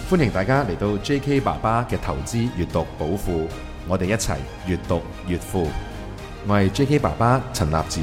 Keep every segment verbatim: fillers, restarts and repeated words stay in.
歡迎大家嚟到 J K 爸爸嘅投資閱讀寶庫，我哋一齊閱讀越富。我係 J K 爸爸陳立展。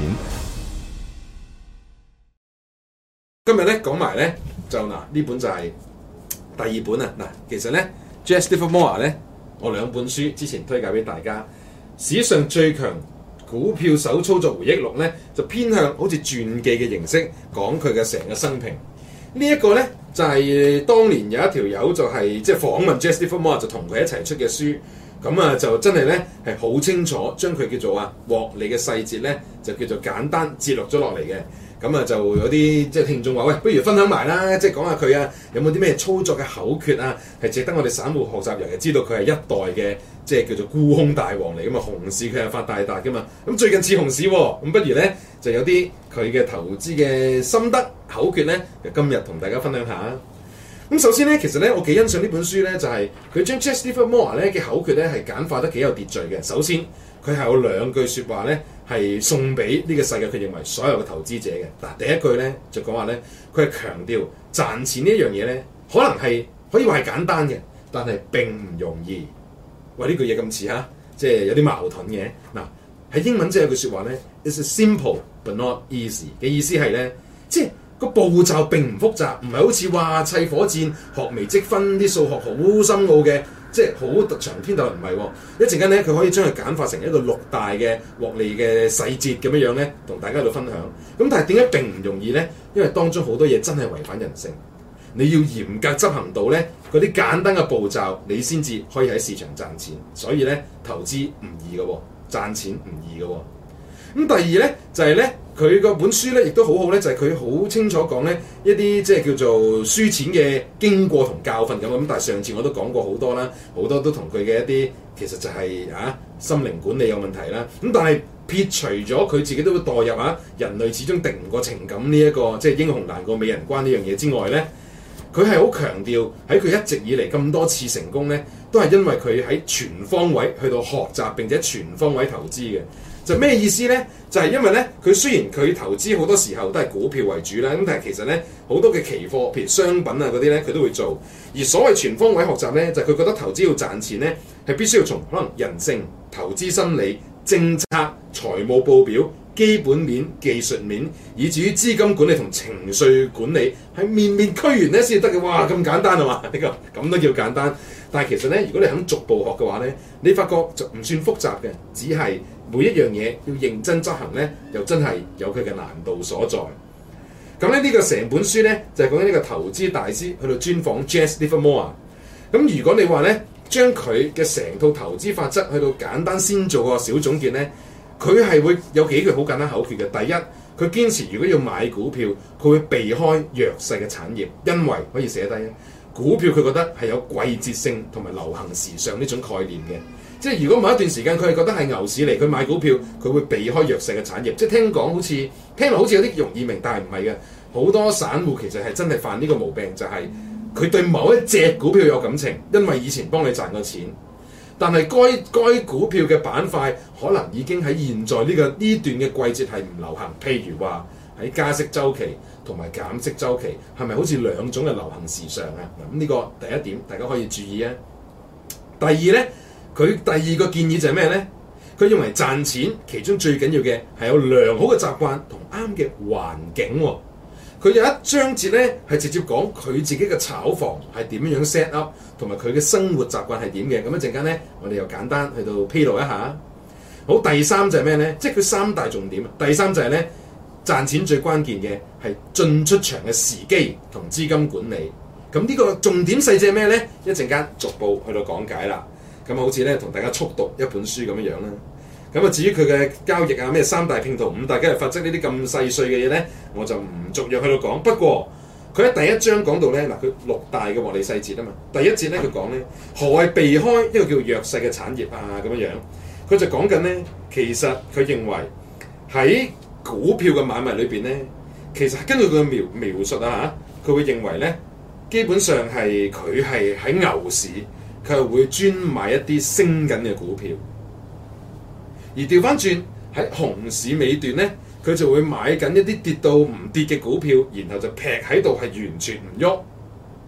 今日咧講埋咧就嗱呢本就係第二本啊嗱，其實咧 Jesse Livermore 咧我兩本書之前推介俾大家，史上最強股票手操作回憶錄咧就偏向好似傳記嘅形式講佢嘅成個生平。呢一個咧就係、是、當年有一條友就係即係訪問 Jesse Livermore 就同佢一齊出嘅書，咁啊就真係咧係好清楚將佢叫做啊獲利嘅細節咧就叫做簡單節錄咗落嚟嘅。咁啊就有啲即係聽眾話喂，不如分享埋啦，即係講下佢啊有冇啲咩操作嘅口訣啊，係值得我哋散戶學習，尤其知道佢係一代嘅即係叫做沽空大王嚟噶嘛，熊市佢係發大達噶嘛。咁最近似熊市喎，咁不如咧就有啲佢嘅投資嘅心得口訣咧，就今日同大家分享下。咁首先咧，其實咧我幾欣賞呢本書咧，就係、是、佢將 Jesse Livermore 咧嘅口訣咧係簡化得幾有秩序嘅。首先佢係有兩句説話咧。係送俾呢個世界，佢認為所有嘅投資者嘅嗱，第一句咧就講話咧，佢係強調賺錢呢一樣嘢咧，可能係可以話係簡單嘅，但係並唔容易。喂，呢句嘢咁似嚇，即係有啲矛盾嘅嗱。喺英文即係有句説話咧 ，It's simple but not easy 嘅意思係咧，即係個步驟並唔複雜，唔係好似話砌火箭、學微積分啲數學好深奧嘅。即係好長篇大論唔係喎，一陣間咧佢可以將佢簡化成一個六大嘅獲利嘅細節咁樣樣咧，同大家喺度分享。咁但係點解並唔容易咧？因為當中好多嘢真係違反人性，你要嚴格執行到咧嗰啲簡單嘅步驟，你先至可以喺市場賺錢。所以咧投資唔易嘅喎，賺錢唔易嘅喎。咁第二咧就係咧佢個本書咧亦都好好咧，就係佢好清楚講咧一啲即係叫做輸錢嘅經過同教訓咁。咁但係上次我都講過好多啦，好多都同佢嘅一啲其實就係、是、啊心靈管理有問題啦。咁但係撇除咗佢自己都會墮入啊人類始終敵唔過情感呢、這、一個即係英雄難過美人關呢樣嘢之外咧，佢係好強調喺佢一直以嚟咁多次成功咧，都係因為佢喺全方位去到學習並且全方位投資嘅。就咩意思咧？就係、是、因為咧，佢雖然佢投資好多時候都係股票為主啦，咁但係其實咧好多嘅期貨，譬如商品啊嗰啲咧，佢都會做。而所謂全方位學習咧，就係、是、佢覺得投資要賺錢咧，係必須要從可能人性、投資心理、政策、財務報表、基本面、技術面，以至於資金管理同情緒管理，係面面俱圓咧先至得嘅。哇，咁簡單啊嘛？呢個咁都叫簡單。但係其實咧，如果你肯逐步學嘅話咧，你發覺就唔算複雜嘅，只係每一樣嘢要認真執行咧，又真係有佢嘅難度所在。咁咧呢個成本書咧就係講緊呢個投資大師去到專訪 Jesse Livermore。咁如果你話咧將佢嘅成套投資法則去到簡單先做個小總結咧，佢係會有幾句好簡單口訣嘅。第一，佢堅持如果要買股票，佢會避開弱勢嘅產業，因為可以寫低股票佢覺得係有季節性同埋流行時尚呢種概念嘅。即係如果某一段時間佢係覺得係牛市嚟，佢買股票佢會避開弱勢嘅產業。即係聽講好似聽落好似有啲容易明，但係唔係嘅。好多散戶其實係真係犯呢個毛病，就係、是、佢對某一隻股票有感情，因為以前幫你賺過錢。但係該該股票嘅板塊可能已經喺現在呢、這個呢段嘅季節係唔流行。譬如話喺加息週期同埋減息週期，係咪好似兩種嘅流行時尚啊？咁呢個第一點大家可以注意啊。第二咧。佢第二個建議就係咩咧？佢認為賺錢其中最緊要嘅係有良好嘅習慣同啱嘅環境、哦。佢有一章節咧係直接講佢自己嘅炒房係點樣 set up， 同埋佢嘅生活習慣係點嘅。咁一陣間咧，我哋又簡單去到披露一下。好，第三就係咩咧？即係佢三大重點。第三就係咧賺錢最關鍵嘅係進出場嘅時機同資金管理。咁呢個重點細節係咩咧？一陣間逐步去到講解啦。咁好似咧同大家速讀一本書咁樣樣啦。咁啊至於佢嘅交易啊咩三大拼圖五大交易法則呢啲咁細碎嘅嘢咧，我就唔逐樣去到講。不過佢喺第一章講到咧嗱，佢六大嘅獲利細節啊嘛。第一節咧佢講咧何謂避開一個叫弱勢嘅產業啊咁樣樣。佢就講緊咧，其實佢認為喺股票嘅買賣裏邊咧，其實根據佢嘅描描述啊嚇，佢會認為咧基本上係佢係喺牛市。佢係會專買一啲升緊嘅股票，而調翻轉喺熊市尾段咧，佢就會買緊一啲跌到唔跌嘅股票，然後就劈喺度係完全唔喐。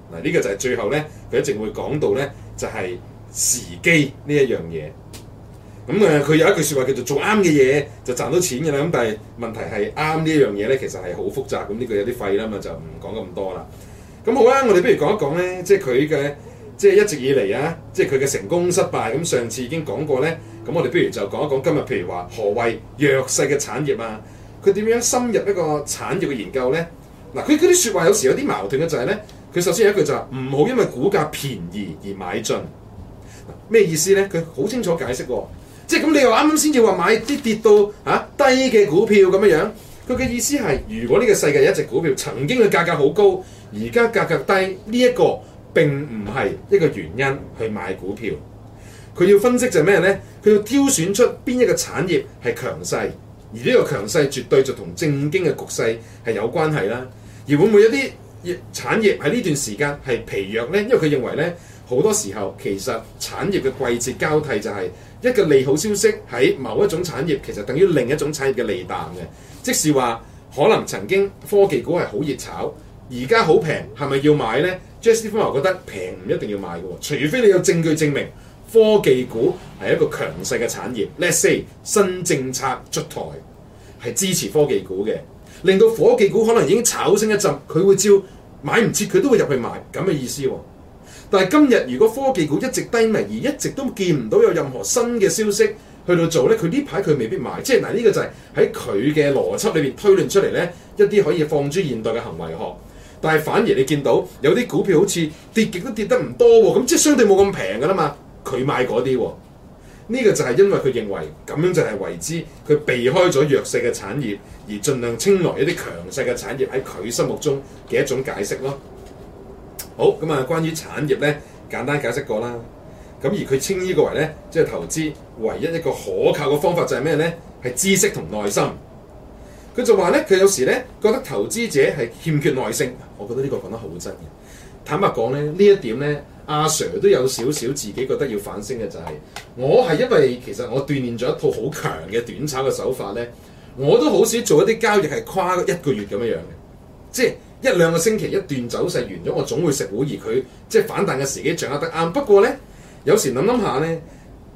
嗱，呢個就係最後咧，佢一直會講到咧，就係、是、時機呢一樣嘢。咁誒，佢有一句説話叫做做啱嘅嘢就賺到錢嘅啦。咁但係問題係啱呢一樣嘢咧，其實係好複雜。咁呢個有啲廢啦嘛，就唔講咁多啦。咁好啦，我哋不如講一講咧，即係佢嘅即係一直以嚟啊，即係佢嘅成功失敗。咁上次已經講過咧，咁我哋不如就講一講今日，譬如話何謂弱勢嘅產業啊？佢點樣深入一個產業嘅研究咧？嗱，佢嗰啲説話有時有啲矛盾嘅就係咧，佢首先有一句就係唔好因為股價便宜而買進。咩意思咧？佢好清楚解釋喎。即係咁，你又啱啱先至話買啲跌到嚇、啊、低嘅股票咁樣樣，佢嘅意思係，如果呢個世界有一隻股票曾經嘅價格好高，而家價格低，呢、這、一個並唔係一個原因去買股票。佢要分析就係咩咧？佢要挑選出邊一個產業係強勢，而呢個強勢絕對就同政經嘅局勢係有關係啦。而會唔會有啲產業喺呢段時間係疲弱咧？因為佢認為咧，好多時候其實產業嘅季節交替就係、是。一個利好消息喺某一種產業，其實等於另一種產業嘅利淡嘅。即是話，可能曾經科技股係好熱炒，而家好平，係咪要買呢？ J S D 方覺得平唔一定要買嘅，除非你有證據證明科技股係一個強勢嘅產業。Let's say 新政策出台係支持科技股嘅，令到科技股可能已經炒升一陣，佢會照買唔切，佢都會入去買咁嘅意思喎。但係今日如果科技股一直低迷，而一直都見唔到有任何新嘅消息去到做咧，佢呢排佢未必買。即係嗱，呢個就係喺佢嘅邏輯裏邊推論出嚟咧，一啲可以放諸現代嘅行為學。但係反而你見到有啲股票好似跌極都跌得唔多喎，咁即係相對冇咁平㗎啦嘛，佢買嗰啲喎。呢個就係因為佢認為咁樣就係為之佢避開咗弱勢嘅產業，而盡量青睞一啲強勢嘅產業喺佢心目中嘅一種解釋咯。好，咁啊，關於產業咧，簡單解釋過啦。咁而佢稱呢個為咧，即係投資唯一一個可靠嘅方法就係咩咧？係知識同耐心。佢就話咧，佢有時咧覺得投資者係欠缺耐性。我覺得呢個講得好真嘅。坦白講咧，呢一點咧，阿 Sir 都有少少自己覺得要反省嘅就係、是，我係因為其實我鍛鍊咗一套好強嘅短炒嘅手法咧，我都好少做一啲交易係跨一個月咁樣樣嘅，即係。一兩個星期一段走勢完咗，我總會食糊，而佢即係反彈嘅時機掌握得啱。不過咧，有時諗諗下咧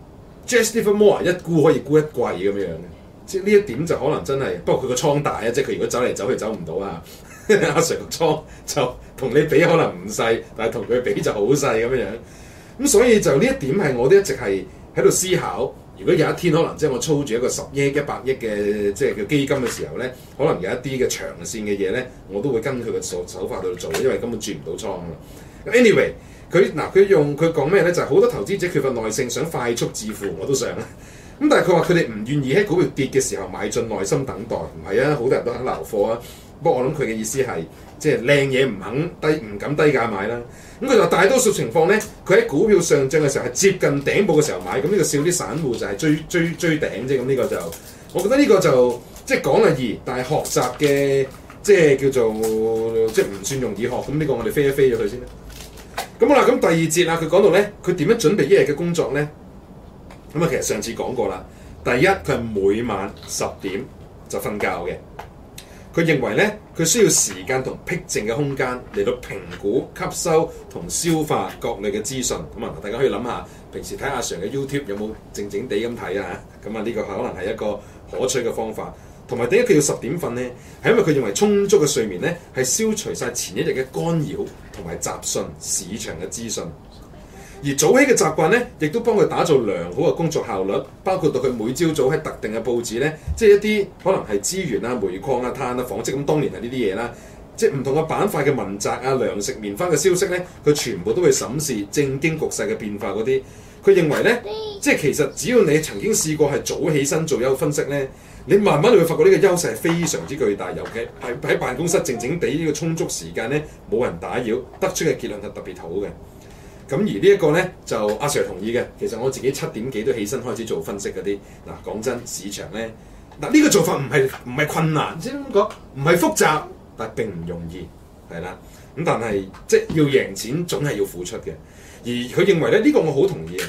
Just Livermore 一沽可以沽一季咁樣樣嘅，即係呢一點就可能真係。不過佢個倉大啊，即係佢如果走嚟走去走唔到啊。阿 Sir 個倉就同你比可能唔細，但係同佢比就好細咁樣樣。咁所以就呢一點係我都一直係喺度思考。如果有一天可能即係我操住一個十億、一百億嘅即係叫基金嘅時候咧，可能有一啲嘅長線嘅嘢咧，我都會跟佢嘅手手法去做，因為根本轉唔到倉啊嘛。Anyway，佢嗱佢用佢講咩咧？就係、是、好多投資者缺乏耐性，想快速致富，我都想啊。咁但係佢話佢哋唔願意喺股票跌嘅時候買進，耐心等待。唔係啊，好多人都肯留貨啊。不過我諗佢嘅意思係即係靚嘢唔肯低唔敢低價買啦。咁佢話大多數情況咧，佢喺股票上漲嘅時候係接近頂部嘅時候買，咁呢個笑啲散戶就係追追追頂啫。咁呢個就我覺得呢個就即係講係易，但係學習嘅即係叫做即係唔算容易學。咁呢個我哋飛一飛咗佢先啦。咁好啦，咁第二節啦，佢講到咧，佢點樣準備一日嘅工作咧？咁啊，其實上次講過啦。第一，佢係每晚十點就瞓覺嘅。佢認為咧，佢需要時間同僻靜嘅空間嚟到評估、吸收同消化各類嘅資訊。咁啊，大家可以諗下，平時睇阿 Sir 嘅 YouTube 有冇靜靜地咁睇啊？咁啊，呢個可能係一個可取嘅方法。同埋點解佢要十點瞓咧？係因為佢認為充足嘅睡眠咧，係消除晒前一日嘅干擾同埋雜訊、市場嘅資訊。而早起嘅習慣咧，亦都幫佢打造良好嘅工作效率，包括到佢每朝早喺特定嘅報紙咧，即係一啲可能係資源啊、煤礦啊、碳啊、紡織咁，當年係呢啲嘢啦，即係唔同嘅板塊嘅文摘啊、糧食、棉花嘅消息咧，佢全部都會審視政經局勢嘅變化嗰啲。佢認為咧，即係其實只要你曾經試過係早起身做優分析咧，你慢慢你會發覺呢個優勢係非常之巨大，尤其係喺辦公室靜靜地呢個充足時間咧，冇人打擾，得出嘅結論係特別好嘅。咁而呢一個咧就阿 Sir 同意嘅，其實我自己七點幾都起身開始做分析嗰啲。嗱，講真，市場咧嗱呢個做法唔係唔係困難，即係咁講，唔係複雜，但係並唔容易，係啦。咁但係即係要贏錢總係要付出嘅。而佢認為咧呢個我好同意嘅。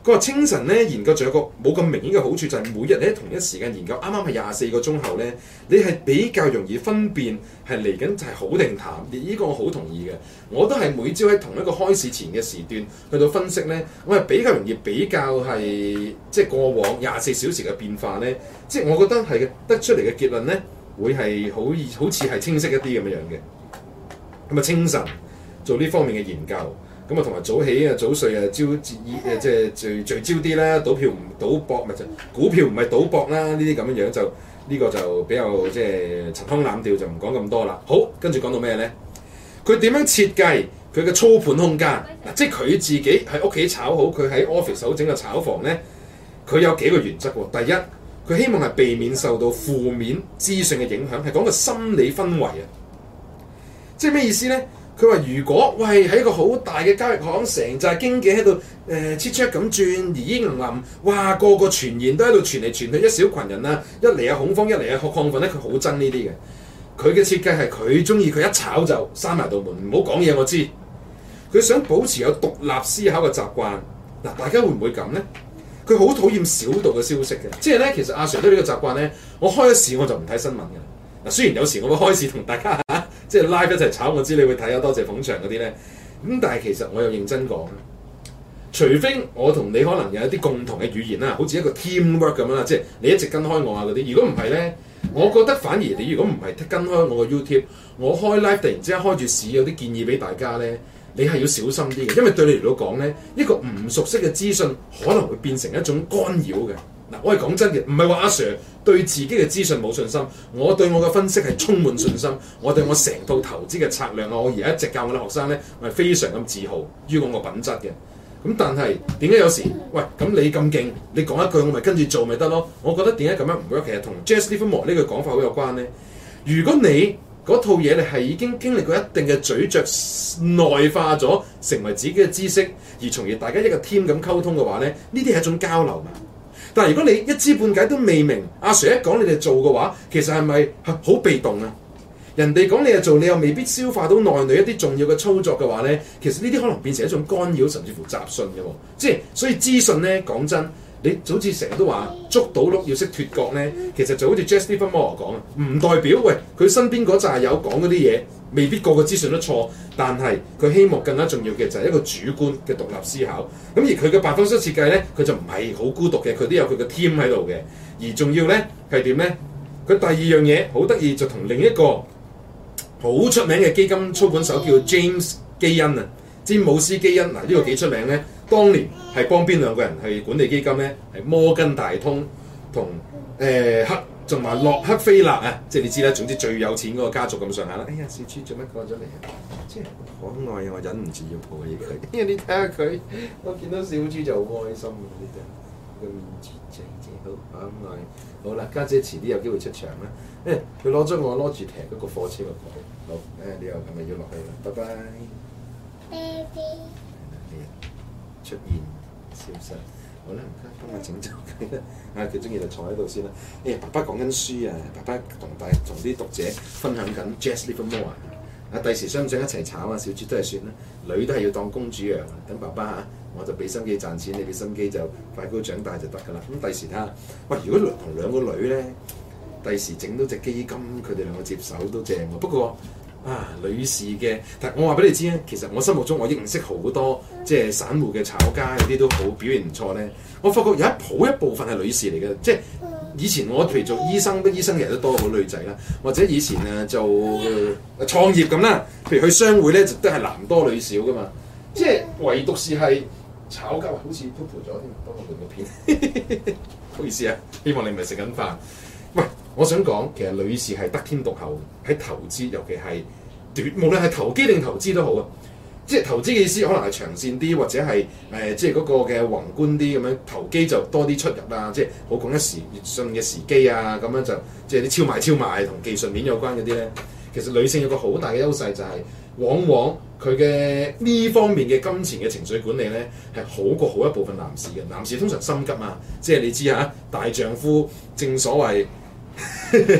佢話清晨咧研究仲有個冇咁明顯嘅好處，就係每日喺同一時間研究，啱啱係廿四個鐘後咧，你係比較容易分辨係嚟緊係好定淡。呢個我好同意嘅，我都係每朝喺同一個開市前嘅時段去到分析咧，我係比較容易比較係即係過往廿四小時嘅變化咧，即係我覺得係嘅，得出嚟嘅結論咧會係好好似係清晰一啲咁樣樣嘅。咁啊清晨做呢方面嘅研究。咁啊，同埋早起啊、早睡啊、朝誒即係聚聚焦啲啦，賭票唔賭博咪就股票唔係賭博啦，呢啲咁樣樣就呢、呢個就比較即係陳腔濫調，就唔講咁多啦。好，跟住講到咩咧？佢點樣設計佢嘅操盤空間嗱？即係佢自己喺屋企炒好，佢喺 office 好整個炒房咧，佢有幾個原則喎。第一，佢希望係避免受到負面資訊嘅影響，係講個心理氛圍啊。即係咩意思咧？佢話：如果喂喺一個好大嘅交易行，成紮經紀喺度誒切出咁轉，而依林林，哇個個傳言都喺度傳嚟傳去，一小群人啊，一嚟啊恐慌，一嚟啊亢奮咧，佢好憎呢啲嘅。佢嘅設計係佢中意，佢一炒就閂埋道門，唔好講嘢。我知佢想保持有獨立思考嘅習慣。嗱，大家會唔會咁咧？佢好討厭小道嘅消息嘅，即係咧，其實阿 Sir 都呢個習慣咧。我開咗市我就唔睇新聞嘅。嗱，雖然有時我會開市同大家。即係 live 一齊炒，我知你會睇啊，多謝捧場嗰啲咧。咁但係其實我又認真講，除非我同你可能有一啲共同嘅語言啦，好似一個 teamwork 咁啦，即係你一直跟開我啊嗰啲。如果唔係咧，我覺得反而你如果唔係跟開我個 YouTube，我開 live 突然之間開住市有啲建議俾大家咧，你係要小心啲嘅，因為對你嚟到講咧，一個唔熟悉嘅資訊可能會變成一種干擾嘅。嗱，我係講真嘅，唔係話阿 Sir 對自己嘅資訊冇信心，我對我嘅分析係充滿信心，我對我成套投資嘅策略啊，我而家一直教我啲學生咧，我係非常咁自豪於我個品質嘅。咁但係點解有時喂咁你咁勁，你講一句我咪跟住做咪得咯？我覺得點解咁樣唔 work？其實同 Jesse Livermore 呢句講法好有關咧。如果你嗰套嘢你係已經經歷過一定嘅咀嚼內化咗，成為自己嘅知識，而從而大家一個 team 咁溝通嘅話咧，呢啲係一種交流嘛。但係如果你一知半解都未明，阿 Sir 一講你哋做嘅話，其實係咪好被動啊？人哋講你哋做，你又未必消化到內裏一啲重要嘅操作嘅話咧，其實呢啲可能變成一種干擾，甚至乎雜訊嘅喎。即係所以資訊咧，講真，你好似成日都話捉到鹿要識脫角咧，其實就好似 Jesse Livermore 講啊，唔代表喂佢身邊嗰紮友講嗰啲嘢未必個個資訊都錯，但係佢希望更加重要嘅就係一個主觀嘅獨立思考。咁而佢嘅辦公室設計咧，佢就唔係好孤獨嘅，佢都有佢嘅 team 喺度嘅。而重要咧係點咧？佢第二樣嘢好得意，就同另一個好出名嘅基金操盤手叫 James 基恩啊，詹姆斯基恩嗱，呢個幾出名咧。當年係幫邊兩個人去管理基金咧？係摩根大通同誒克仲埋洛克菲勒啊，即係你知啦。總之最有錢嗰個家族咁上下啦。哎呀，小豬做乜過咗嚟啊？即係可愛啊！我忍唔住要抱起佢。因為你睇下佢，我見到小豬就好開心啊！呢隻個面字仔仔好可愛。好啦，家姐，姐遲啲有機會出場啦。誒、哎，佢攞咗我攞住踢嗰個貨車個袋。好，誒、哎，你又係咪要落去啦？拜拜。Baby。出現消失，好啦，幫我整走佢啦。啊，佢中意就坐喺度先啦。誒、哎，爸爸講緊書啊，爸爸同大同啲讀者分享緊 Jesse Livermore 啊。第時想唔想一齊炒啊？小豬都係算啦，女都係要當公主養啊。等爸爸嚇，我就俾心機賺錢，你俾心機就快高長大就得㗎啦。咁第時睇下，喂，如果同兩個女咧，第時整到隻基金，佢哋兩個接手都正喎。不過，啊，女士嘅，但我話俾你知咧，其實我心目中我認識好多即係散戶嘅炒家，有啲都好表現唔錯咧。我發覺有一好一部分係女士嚟嘅，即係以前我譬如做醫生，啲醫生其實都多好女仔啦，或者以前啊做、呃、創業咁啦，譬如去商會咧，就都係男多女少噶嘛。即係唯獨是係炒家，好似 poop 咗添，幫我換個片，唔好意思啊，希望你唔係食緊飯。喂，我想講，其實女士係得天獨厚喺投資，尤其係短，無論係投機定投資都好啊。即係投資嘅意思，可能係長線啲，或者係誒、呃，即係嗰個嘅宏觀啲咁樣。投機就多啲出入啊，即係好講一時信嘅時機啊，咁樣就即係啲超賣超賣同技術面有關嗰啲咧。其實女性有個好大嘅優勢就係、是，往往佢嘅呢方面嘅金錢嘅情緒管理咧，係好過好一部分男士嘅。男士通常心急啊，即係你知嚇，大丈夫正所謂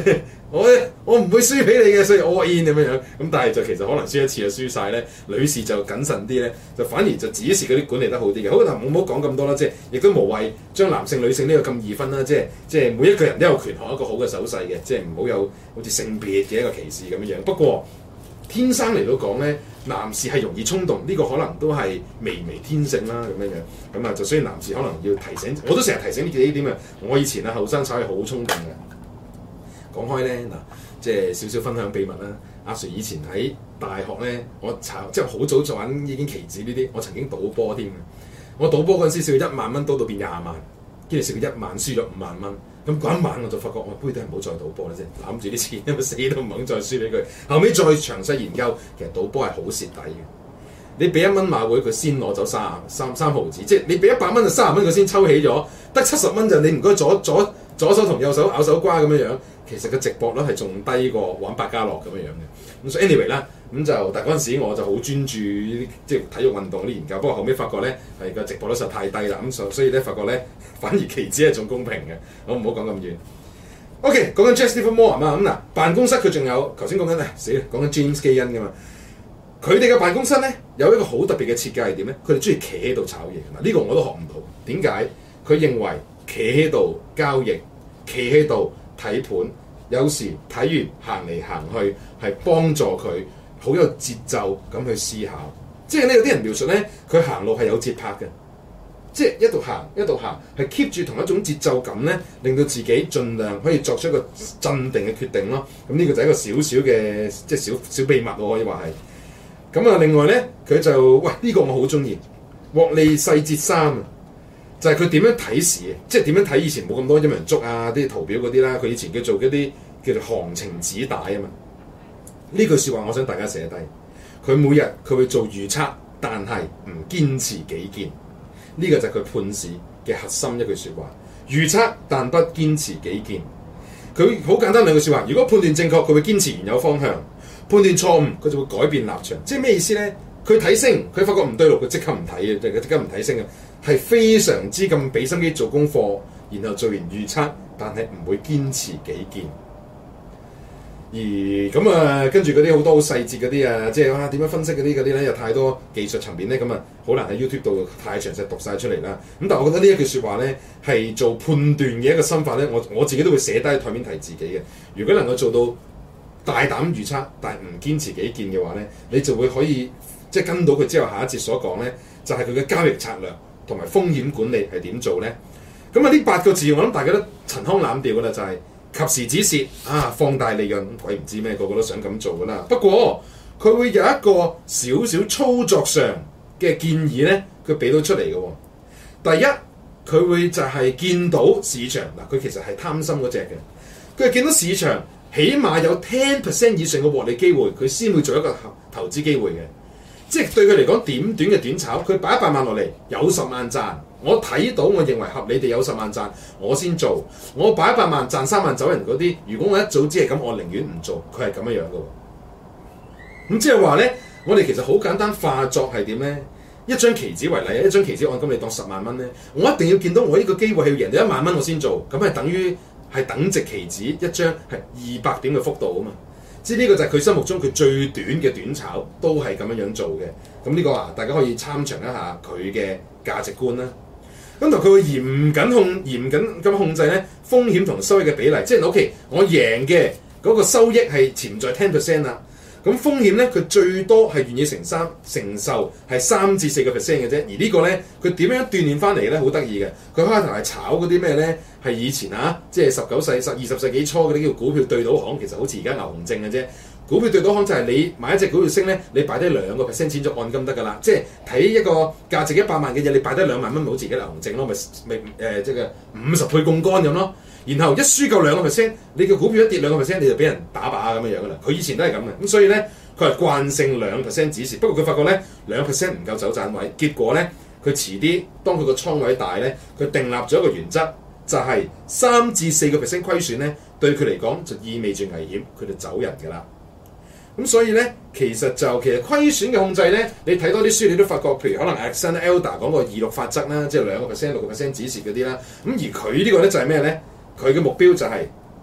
我我唔會輸俾你嘅，所以 all in 咁樣樣。咁但係就其實可能輸一次就輸晒咧。女士就謹慎啲咧，就反而就指示嗰啲管理得好啲嘅。好嗱，唔好講咁多啦，即係亦都無謂將男性女性呢個咁易分啦。即係即係每一個人都有權學一個好嘅手勢嘅，即係唔好有好似性別嘅一個歧視咁樣樣。不過天生嚟到講咧，男士係容易衝動，呢、這個可能都係微微天性啦咁樣樣。咁啊，就所以男士可能要提醒，我都成日提醒呢幾點啊。我以前啊後生炒係好衝動嘅。講開咧嗱，即係少少分享秘密啦。阿 Sir 以前喺大學咧，我炒即係好早就玩已經期指呢啲，我曾經賭波添嘅。我賭波嗰陣時，試過一萬蚊賭到變廿萬，跟住試過一萬輸咗五萬蚊。咁嗰一晚我就發覺，我不如都係唔好再賭波啦，即係攬住啲錢，因為死都唔肯再輸俾佢。後尾再詳細研究，其實賭波係好蝕底嘅。你俾一蚊馬會，佢先攞走三三三毫子，即係你俾一百蚊就三十蚊，佢先抽起咗，得七十蚊就你唔該左左左手同右手咬手瓜咁樣樣。其實個直播率係仲低過玩百家樂咁樣樣嘅。咁所以 anyway 啦，咁就但係嗰陣時我就好專注即係體育運動啲研究，不過後尾發覺咧係個直播率實在太低啦，咁所所以咧發覺咧反而期指係仲公平嘅。我唔好講咁遠。OK， 講緊 Jesse Livermore 啊嘛，咁嗱辦公室佢仲有頭先講緊咧死啦，講緊 James 基恩噶嘛。佢哋嘅辦公室咧有一個好特別嘅設計係點咧？佢哋中意企喺度炒嘢嗱，呢個我都學唔到。點解？佢認為企喺度交易，企喺度睇盤，有時睇完行嚟行去係幫助佢好有節奏咁去思考。即係呢有啲人描述咧，佢行路係有節拍嘅，即係一度行一度行，係 keep 住同一種節奏感咧，令到自己盡量可以作出一個鎮定嘅決定咯。咁呢個就係一個小小嘅即係小小秘密，我可以話係。咁啊，另外咧，佢就喂呢、這個我好中意獲利細節三啊，就係佢點樣睇市嘅，即係點樣睇以前冇咁多陰陽燭啊啲圖表嗰啲啦，佢以前叫做嗰啲叫做行情紙帶啊嘛。呢句説話我想大家寫低，佢每日佢會做預測，但係唔堅持己見。呢、這個就係佢判市嘅核心一句説話，預測但不堅持己見。佢好簡單兩句説話，如果判斷正確，佢會堅持原有方向。判斷錯誤，佢就會改變立場。即係咩意思咧？佢睇升，佢發覺唔對路，佢即刻唔睇嘅，即係佢即刻唔睇升嘅，係非常之咁俾心機做功課，然後做完預測，但係唔會堅持己見。而咁啊，跟住嗰啲好多好細節嗰啲啊，即係啊點樣分析嗰啲嗰啲咧，有太多技術層面咧，咁啊好難喺 YouTube 度太詳細讀晒出嚟啦。咁但係我覺得呢一句説話咧，係做判斷嘅一個心法咧，我我自己都會寫低喺台面提自己嘅。如果能夠做到大膽預測，但係唔堅持己見嘅話咧，你就會可以即係跟到佢之後下一節所講咧，就係佢嘅交易策略同埋風險管理係點做咧？咁啊呢八個字我諗大家都陳腔濫調噶啦，就係、是、及時止蝕啊，放大利潤，鬼唔知咩，個個都想咁做噶啦。不過佢會有一個少少操作上嘅建議咧，佢俾到出嚟嘅喎。第一，佢會就係見到市場嗱，佢其實係貪心嗰隻嘅，佢係見到市場。起碼有 ten percent 以上嘅獲利機會，佢先會做一個投資機會嘅。即係對佢嚟講，點短嘅短炒，佢擺一百萬落嚟，有十萬賺。我睇到，我認為合理地有十萬賺，我先做。我擺一百萬賺三萬走人嗰啲，如果我一早知係咁，我寧願唔做。佢係咁樣樣嘅。咁即係話咧，我哋其實好簡單化作係點咧？一張期指為例，一張期指按金你當十萬蚊咧，我一定要見到我呢個機會係要贏到一萬蚊，我先做。咁係等於。係等值期指一張係二百點嘅幅度啊嘛，即係呢個就係佢心目中佢最短嘅短炒都係咁樣樣做嘅。咁呢個啊，大家可以參詳一下佢嘅價值觀啦。咁同佢會嚴謹控嚴謹咁控制咧風險同收益嘅比例，即係 OK，我贏嘅嗰個收益係潛在 ten percent 啦。咁風險咧，佢最多係願意承三承受係三至四個 percent 嘅啫。而個呢個咧，佢點樣鍛鍊翻嚟咧？好得意嘅。佢開頭係炒嗰啲咩咧？係以前啊，即係十九世、十二十世紀初嗰啲叫股票對賭行，其實好似而家牛熊證嘅啫。股票對賭行就係你買一隻股票升咧，你擺低兩個 percent 錢咗按金得㗎啦。即係睇一個價值一百萬嘅嘢，你擺低兩萬蚊，咪好似而家牛熊證咯，咪咪誒即係五十倍槓桿咁咯。然後一輸夠兩個 percent，你嘅股票一跌兩個 percent，你就俾人打靶咁樣樣噶啦。佢以前都係咁嘅，咁所以咧佢係慣性兩 percent 止蝕。不過佢發覺咧兩 percent 唔夠走盞位，結果咧佢遲啲當佢個倉位大咧，佢訂立咗一個原則，就係三至四個 percent 虧損咧，對佢嚟講就意味住危險，佢就走人噶啦。咁所以咧，其實就其實虧損嘅控制咧，你睇多啲書，你都發覺，譬如可能 Alexander Elder 講個二六法則啦，即係兩個 percent、六個 percent 止蝕嗰啲啦。咁而佢呢個咧就係咩咧？佢嘅目標就係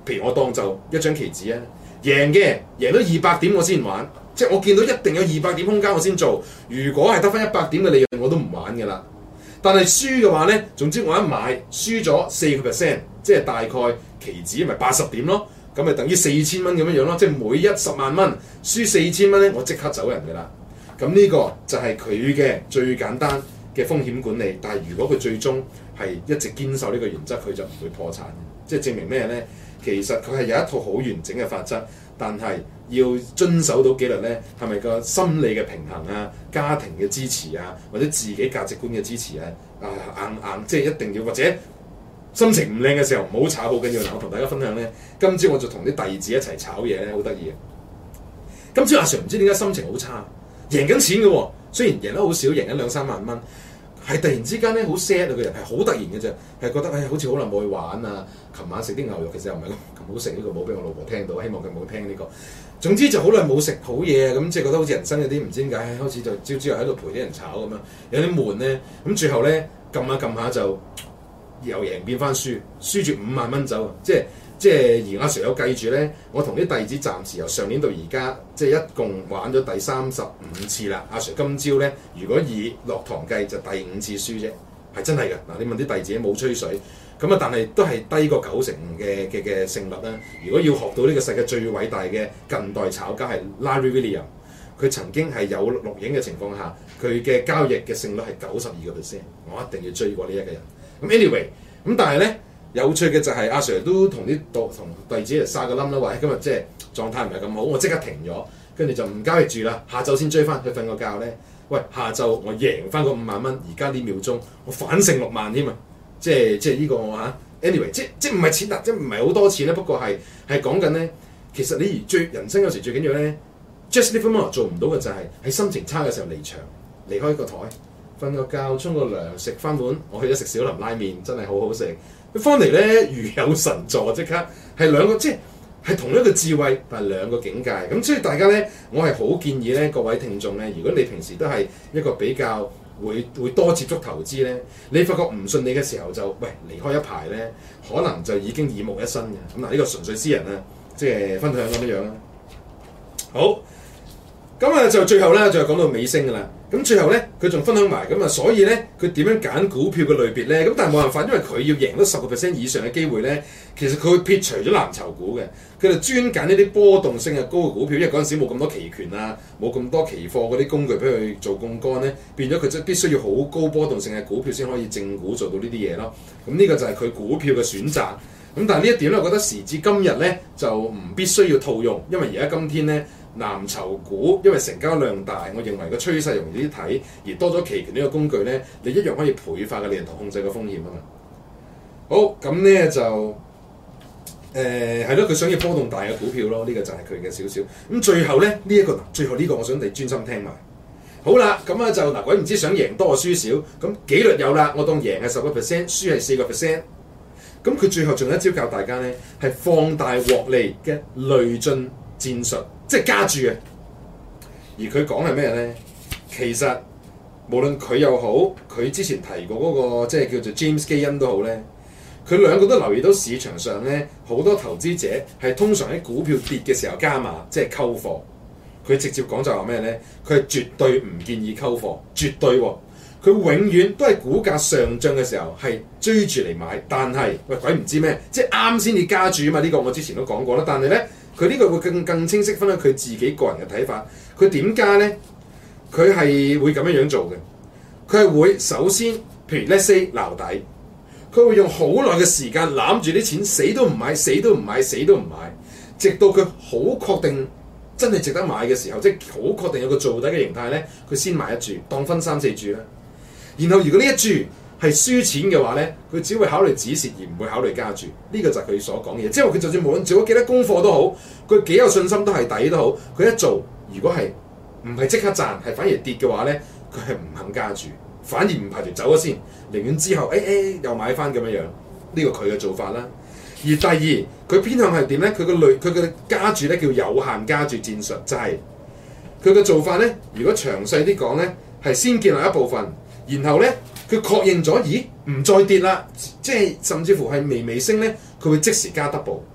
譬如我當就一張棋子啊，贏嘅贏到二百點我先玩，即係我見到一定有二百點空間我先做。如果係得翻一百點嘅利潤，我都唔玩㗎啦。但係輸嘅話咧，總之我一買輸咗四個 percent，即係大概棋子咪八十點咯，咁咪等於四千蚊咁樣樣咯。即係每一十萬蚊輸四千蚊咧，我即刻走人㗎啦。咁呢個就係佢嘅最簡單嘅風險管理。但係如果佢最終係一直堅守呢個原則，佢就唔會破產。即係證明咩咧？其實佢係有一套好完整嘅法則，但係要遵守到紀律咧，係咪個心理嘅平衡啊、家庭嘅支持啊，或者自己價值觀嘅支持啊？啊硬硬即係一定要，或者心情唔靚嘅時候唔好炒，好緊要。嗱，我同大家分享咧，今朝我就同啲弟子一齊炒嘢咧，好得意嘅。今朝阿 Sir 唔知點解心情好差。贏緊錢嘅喎，雖然贏得好少，贏緊兩三萬蚊，係突然之間咧好 sad 啊！個人係好突然嘅啫，係覺得唉、哎，好似好耐冇去玩啊！琴晚食啲牛肉其實又唔係咁好食，呢、這個冇俾我老婆聽到，希望佢冇聽呢、這個。總之就好耐冇食好嘢啊！咁即係覺得好似人生有啲唔知點解，開始就朝朝又喺度陪啲人炒咁樣，有啲悶咧。咁最後咧撳下撳下就由贏變翻輸，輸住五萬蚊走，即係。即係而阿 Sir 有計住咧，我同啲弟子暫時由上年到而家，即係一共玩咗第三十五次啦。阿 Sir 今朝咧，如果以落堂計就第五次輸啫，係真係嘅。嗱，你問啲弟子冇吹水，咁啊，但係都係低過九成嘅嘅嘅勝率啦。如果要學到呢個世界最偉大嘅近代炒家係 Larry Williams，佢曾經係有錄影嘅情況下，佢嘅交易嘅勝率係九十二個 percent，我一定要追過呢一個人。咁 anyway，咁但係咧。有趣嘅就係阿 Sir 都同啲同弟子嚟撒個冧啦，話今日即係狀態唔係咁好，我即刻停咗，跟住就唔交易住啦，下晝先追翻去瞓個覺咧。喂，下晝我贏翻個五萬蚊，而家呢秒鐘我反勝六萬添啊！即係即係呢個嚇 ，anyway，即即唔係錢啊，即唔係好多錢咧，不過係係講緊咧，其實你而最人生有時最緊要咧 ，Jesse Livermore 做唔到嘅就係喺心情差嘅時候離場，離開個台，瞓個覺，沖個涼，食翻碗，我去咗食小林拉麵，真係好好食。佢翻嚟咧如有神助，即刻係兩個即係係同一個智慧，但係兩個境界。咁所以大家咧，我係好建議咧，各位聽眾咧，如果你平時都係一個比較會會多接觸投資咧，你發覺唔順利嘅時候就喂離開一排咧，可能就已經耳目一新嘅。咁嗱，呢個純粹私人啊，即係分享咁樣樣啦。好。咁啊，就最後咧，就講到尾聲噶啦。咁最後咧，佢仲分享埋咁啊，所以咧，佢點樣揀股票嘅類別咧？咁但係冇辦法，因為佢要贏到十個 percent 以上嘅機會咧，其實佢會撇除咗藍籌股嘅，佢就專揀呢啲波動性嘅高嘅股票，因為嗰陣時冇咁多期權啊，冇咁多期貨嗰啲工具俾佢做槓桿咧，變咗佢即係必須要好高波動性嘅股票先可以正股做到呢啲嘢咯。咁呢個就係佢股票嘅選擇。咁但係呢一點咧，我覺得時至今日咧就唔必須要套用，因為而家今天咧。藍籌股因為成交量大，我認為個趨勢容易啲睇，而多咗期權呢個工具咧，你一樣可以倍化嘅利潤同控制個風險啊嘛。好，咁咧就誒係咯，佢、呃、想要波動大嘅股票咯，呢、這個就係佢嘅少少。咁最後咧呢一、這個，最後呢個我想你專心聽埋。好啦，咁啊就嗱，鬼唔知想贏多輸少，咁紀律有啦，我當贏係十個 percent，輸係四個 percent。咁佢最後仲有一招教大家咧，係放大獲利嘅累進戰術。即係加注嘅，而佢講係咩咧？其實無論佢又好，佢之前提過嗰、那個即係叫做 James 基恩都好咧，佢兩個都留意到市場上咧好多投資者係通常喺股票跌嘅時候加碼，即係溝貨。佢直接講就話咩咧？佢係絕對唔建議溝貨，絕對喎、哦。佢永遠都係股價上漲嘅時候係追住嚟買，但係喂鬼唔知咩，即係啱先至加注啊嘛！呢、這個我之前都講過啦，但係咧。佢呢個會更更清晰分享佢自己個人嘅睇法。佢點加咧？佢係會咁樣樣做嘅。佢係會首先，譬如 let's say 撈底，佢會用好耐嘅時間攬住啲錢，死都唔買，死都唔買，死都唔買，直到佢好確定真係值得買嘅時候，即係好確定有個做底嘅形態咧，佢先買一注，當分三四注啦。然後如果呢一注係輸錢嘅話咧，佢只會考慮止蝕而唔會考慮加注。呢、這個就係佢所講嘅嘢。即係話佢就算無論做咗幾多功課都好，佢幾有信心都係底都好，佢一做如果係唔係即刻賺，係反而跌嘅話咧，佢係唔肯加注，反而唔排除走咗先，寧願之後誒誒、哎哎、又買翻咁樣樣。呢、這個佢嘅做法啦。而第二佢偏向係點咧？佢個類佢嘅加注咧叫有限加注戰術，就係佢嘅做法咧。如果詳細啲講咧，係先建立一部分，然後咧。佢確認咗，咦唔再跌啦，即係甚至乎係微微升咧，佢會即時加 double。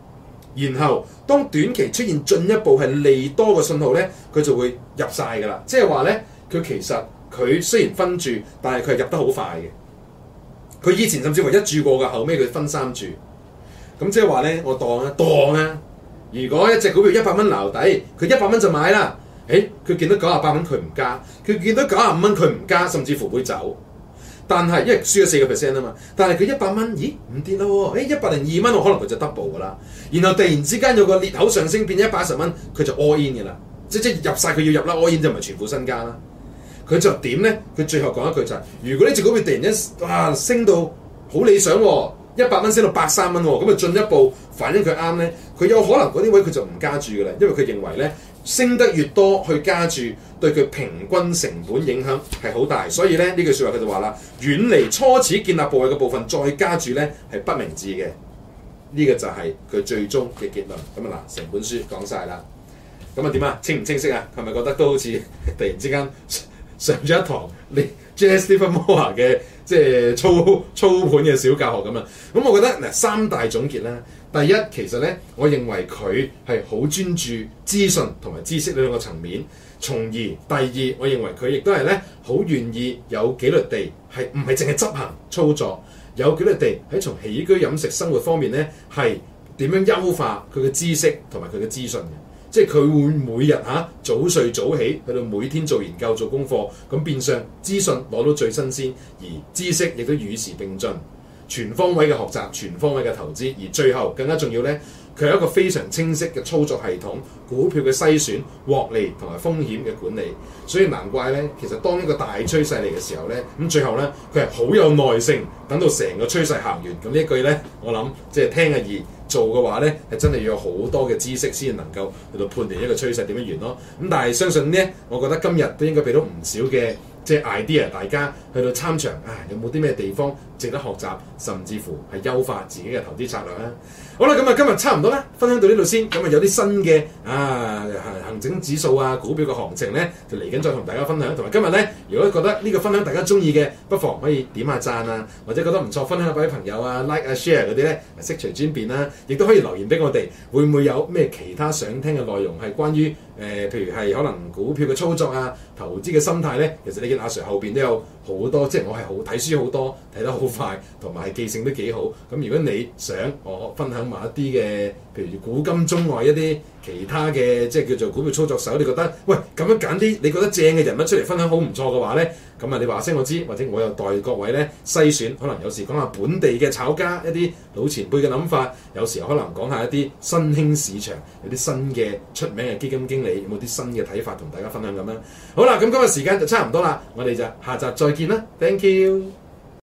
然後當短期出現進一步係利多嘅信號咧，佢就會入晒㗎啦。即係話咧，佢其實佢雖然分注，但係佢係入得好快嘅。佢以前甚至乎一注過㗎，後尾佢分三注。咁即係話咧，我當啊當啊，如果一隻股票一百蚊撈底，佢一百蚊就買啦。誒，佢見到九十八蚊佢唔加，佢見到九十五蚊佢唔加，甚至乎會走。但係因為輸咗四個 percent 啊嘛，但係佢一百蚊，咦唔跌咯喎，誒一百零二蚊我可能佢就 double 㗎啦，然後突然之間有個裂口上升變一百一十蚊，佢就 all in 㗎啦，即即入晒佢要入啦 all in 就唔係全副身家啦，佢就點咧？佢最後講一句就係、是：如果呢隻股票突然間哇升到好理想喎，一百蚊升到百三蚊喎，咁啊進一步反映佢啱咧，佢有可能嗰啲位佢就唔加注㗎啦，因為佢認為咧。升得越多去加注，對佢平均成本影響係好大，所以咧呢句説話佢就話啦，遠離初始建立部位嘅部分再加注咧係不明智嘅。呢、這個就係佢最終嘅結論。咁啊嗱，成本書講晒啦。咁啊點啊？清唔清晰啊？係咪覺得都好似突然之間上咗一堂你 J. Stephen Moore 嘅即係操操盤嘅小教學咁啊？咁我覺得嗱三大總結啦。第一，其實咧，我認為佢係好專注資訊同埋知識呢兩個層面。從而第二，我認為佢亦都係咧好願意有紀律地係唔係淨係執行操作，有紀律地喺從起居飲食生活方面咧係點樣優化佢嘅知識同埋佢嘅資訊嘅。即係佢會每日嚇、啊、早睡早起，去到每天做研究做功課，咁變相資訊攞到最新鮮，而知識亦都與時並進。全方位嘅學習，全方位嘅投資，而最後更加重要咧，佢係一個非常清晰嘅操作系統，股票嘅篩選、獲利同埋風險嘅管理，所以難怪咧，其實當一個大趨勢嚟嘅時候咧，咁最後咧佢係好有耐性，等到成個趨勢行完，咁呢一句咧，我諗即係聽係易，做嘅話咧係真係要有好多嘅知識先能夠去到判斷一個趨勢點樣完咯。咁但係相信咧，我覺得今日都應該俾到唔少嘅。即係 idea， 大家去到參詳，啊有冇啲咩地方值得學習，甚至乎係優化自己嘅投資策略咧？好啦，咁啊今日差唔多啦，分享到呢度先。咁啊有啲新嘅啊行整指數啊股票嘅行情咧，就嚟緊再同大家分享。同埋今日咧，如果覺得呢個分享大家中意嘅，不妨可以點下讚啊，或者覺得唔錯，分享俾啲朋友啊 like 啊 share 嗰啲咧，悉隨尊便啦。亦都可以留言俾我哋，會唔會有咩其他想聽嘅內容係關於誒、呃，譬如係可能股票嘅操作啊、投資嘅心態咧？其實你見阿 Sir 後邊都有好多，即係我係好睇書好多，睇得好快，同埋記性都幾好。咁如果你想我分享埋一啲嘅，譬如古今中外一啲其他嘅，即係叫做股票操作手，你覺得喂咁樣揀啲你覺得正嘅人物出嚟分享好唔錯嘅話咧，咁啊你話聲我知，或者我又代各位咧篩選，可能有時講下本地嘅炒家一啲老前輩嘅諗法，有時可能講下一啲新興市場有啲新嘅出名嘅基金經理有冇啲新嘅睇法同大家分享咁樣。好啦，咁今日時間就差唔多啦，我哋就下集再見啦 ，thank you。